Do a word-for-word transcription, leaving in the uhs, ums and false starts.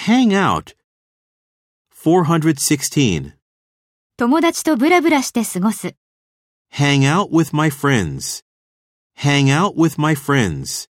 Hang out. four hundred sixteen. 友達とブラブラして過ごす。 Hang out with my friends. Hang out with my friends.